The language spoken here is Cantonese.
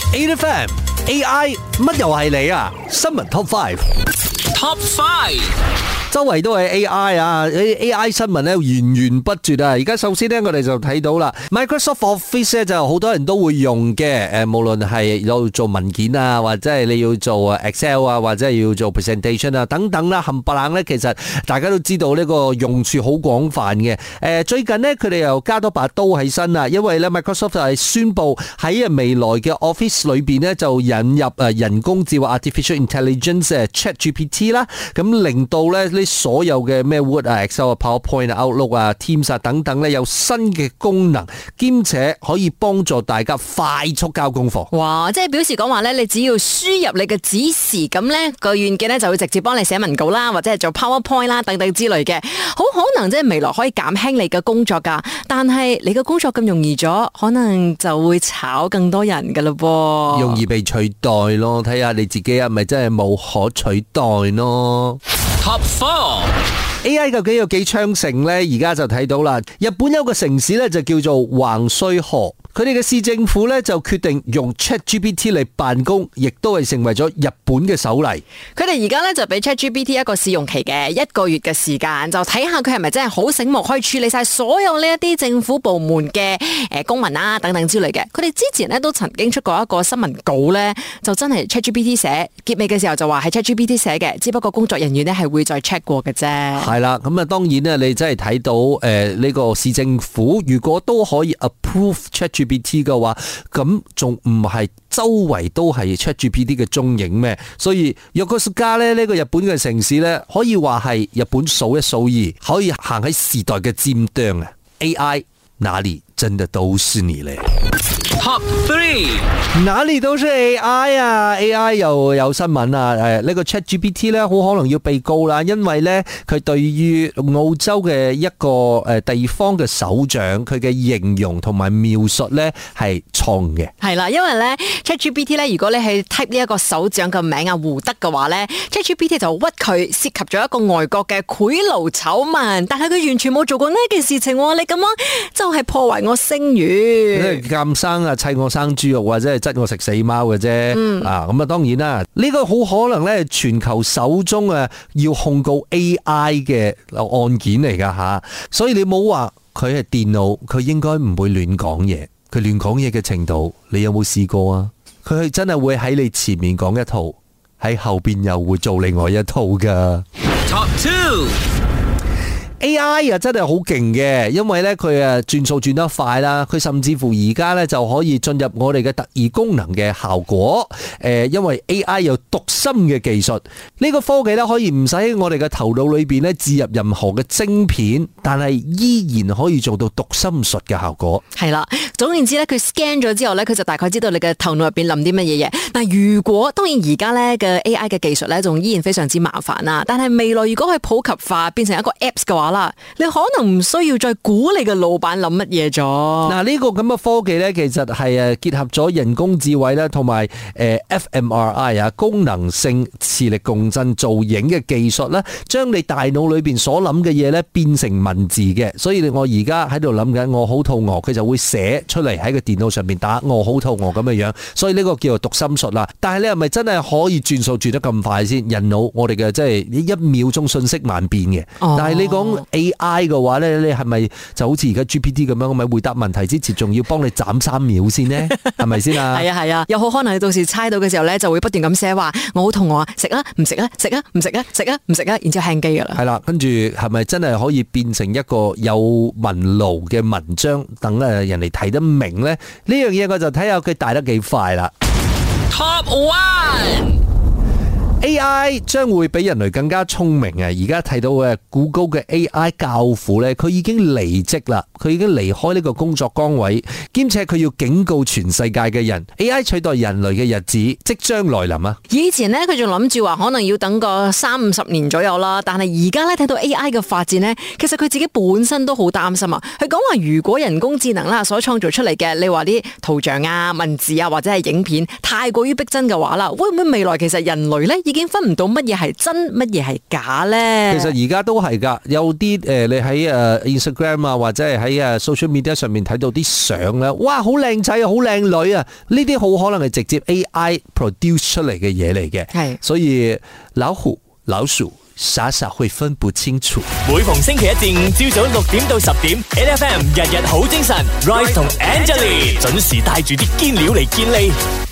8FM AI 乜又係你啊？新聞 Top 5。周圍都係 AI 啊 ！AI 新聞咧源源不絕啊！而家首先咧，我哋就睇到啦 ，Microsoft Office 咧就好多人都會用嘅。無論係有做文件啊，或者係你要做 Excel 啊，或者係要做 presentation 啊等等啦，冚唪唥咧，其實大家都知道呢個用處好廣泛嘅。最近呢，佢哋又加多把刀喺身啦，因為咧 Microsoft 就係宣布喺未來嘅 Office 裏邊咧就引入人工智慧 Artificial Intelligence ChatGPT 啦，咁令到咧所有嘅咩 Word 啊、Excel 啊、PowerPoint 啊、Outlook 啊、Teams 啊等等咧，有新嘅功能，兼且可以幫助大家快速交功課。 哇！即係表示講話咧，你只要輸入你嘅指示，咁咧個軟件咧就會直接幫你寫文稿啦，或者係做 PowerPoint 啦等等之類嘅。好可能即係未來可以減輕你嘅工作噶，但係你嘅工作咁容易咗，可能就會炒更多人噶嘞噃。 容易被取代咯，睇下你自己係咪真係無可取代咯。Top 4 AI 究竟有幾昌盛呢？而家就睇到啦，日本有個城市咧就叫做橫須賀。佢哋嘅市政府咧就決定用 ChatGPT 嚟辦公，亦都係成為咗日本嘅首例。 佢哋而家咧就俾 ChatGPT 一個試用期嘅1個月嘅時間，就睇下佢係咪真係好醒目，可以處理晒所有呢一啲政府部門嘅公文啊等等之類嘅。佢哋之前咧都曾經出過一個新聞稿咧，就真係 ChatGPT 寫，結尾嘅時候就話係 ChatGPT 寫嘅，只不過工作人員咧係會再 check 過嘅啫。 係啦，咁啊當然咧，你真係睇到呢個市政府如果都可以 approve ChatGPT 嘅話，咁仲唔係周圍都係 ChatGPT 嘅蹤影咩？所以Yokosuka咧呢個日本嘅城市咧，可以話係日本數一數二，可以行喺時代嘅尖端啊 ！AI 哪裡真的都是你咧？ Top 3， 哪裡都是 AI 啊 ！AI 又有新聞啊！呢個 ChatGPT 咧，好可能要被告啦，因為咧佢對於澳洲嘅一個地方嘅首長，佢嘅形容同埋描述咧係錯誤嘅。 係啦，因為咧 ChatGPT 咧，如果你係 type 呢一個首長嘅名啊胡德嘅話咧 ，ChatGPT 就屈佢涉及咗一個外國嘅賄賂醜聞，但係佢完全冇做過呢件事情，你咁樣就係破壞我聲譽。 監生啊，砌我生豬肉，或者係質我食死貓嘅啫。咁啊，當然啦，呢個好可能咧，全球首宗要控告 AI 嘅案件嚟噶吓。所以你冇話佢係電腦，佢應該唔會亂講嘢。佢亂講嘢嘅程度，你有冇試過啊？佢係真係會喺你前面講一套，喺後邊又會做另外一套噶。Top 2。AI 真係好勁嘅，因為咧佢轉數轉得快啦，佢甚至乎而家咧就可以進入我哋嘅特異功能嘅效果。因為 AI 有讀心嘅技術，呢個科技咧可以唔使喺我哋嘅頭腦裏邊咧置入任何嘅晶片，但係依然可以做到讀心術嘅效果。 係啦，總言之咧，佢 scan 咗之後咧，佢就大概知道你嘅頭腦入邊諗啲乜嘢嘢。嗱，如果當然而家咧嘅 AI 嘅技術咧，仲依然非常之麻煩啦。但係未來如果佢普及化，變成一個 apps 嘅話啦，你可能唔需要再估你嘅老闆諗乜嘢咗。嗱， 呢個咁嘅科技咧，其實係結合咗人工智慧啦，同埋fMRI 啊，功能性磁力共振造影嘅技術啦，將你大腦裏邊所諗嘅嘢咧變成文字嘅。所以我而家喺度諗緊，我好肚餓，佢就會寫出嚟喺個電腦上面打我好肚餓咁嘅樣。所以呢個叫做讀心術啦。但係你係咪真係可以轉數轉得咁快先？人腦我哋嘅即係1秒鐘信息萬變嘅。但係你講 AI 嘅話咧，你係咪就好似而家 GPT 咁樣，咪回答問題之前仲要幫你斬3秒先呢？係咪先啊？ 係啊，有好可能你到時猜到嘅時候咧，就會不斷咁寫話我好肚餓啊，食啊唔食啊，食啊唔食啊，食啊唔食啊，然之後輕機噶啦。 係啦，跟住係咪真係可以變成一個有文路嘅文章，等人哋睇得明咧？呢樣嘢我就睇下佢大得幾快啦。Top 1。AI 將會比人類更加聰明啊！而家睇到嘅谷歌嘅 AI 教父咧，佢已經離職啦，佢已經離開呢個工作崗位，兼且佢要警告全世界嘅人 ，AI 取代人類嘅日子即將來臨啊！ 以前咧佢仲諗住話可能要等個30-50年左右啦，但係而家咧睇到 AI 嘅發展咧，其實佢自己本身都好擔心啊！佢講話如果人工智能啦所創造出嚟嘅，你話啲圖像啊、文字啊或者係影片太過於逼真嘅話啦，會唔會未來其實人類咧已經分唔到乜嘢係真，乜嘢係假咧？ 其實而家都係噶，有啲你喺Instagram 啊，或者係喺social media 上面睇到啲相咧，哇，好靚仔啊，好靚女啊，呢啲好可能係直接 AI produce 出嚟嘅嘢嚟嘅。係，所以老虎、老鼠傻傻會分不清楚。 每逢星期一至五朝早6點到10點 ，8FM 日日好精神 ，Royce 同 Angeline 準時帶住啲堅料嚟見你。